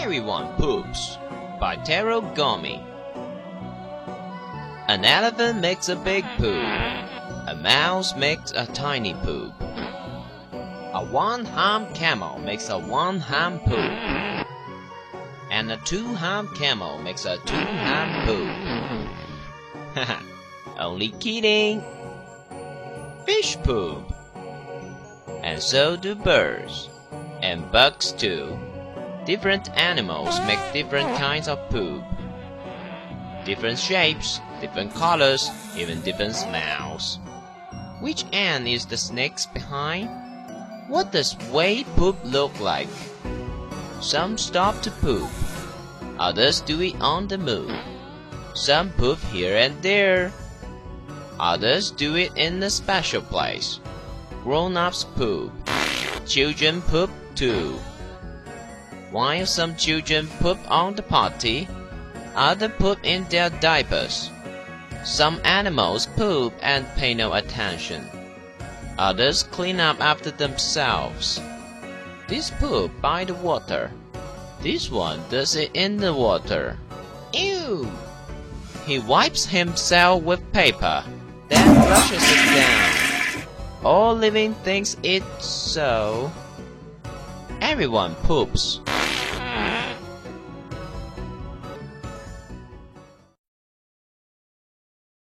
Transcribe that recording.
Everyone Poops by Taro Gomi. An elephant makes a big poop. A mouse makes a tiny poop. A one-hump camel makes a one-hump poop. And a two-hump camel makes a two-hump poop. Haha, only kidding. Fish poop. And so do birds. And bugs too. Different animals make different kinds of poop. Different shapes, different colors, even different smells. Which end is the snake's behind? What does whale poop look like? Some stop to poop. Others do it on the move. Some poop here and there. Others do it in a special place. Grown-ups poop. Children poop too. While some children poop on the potty, others poop in their diapers. Some animals poop and pay no attention. Others clean up after themselves. This poop by the water. This one does it in the water. Ew! He wipes himself with paper, then brushes it down. All living things eat so. Everyone poops.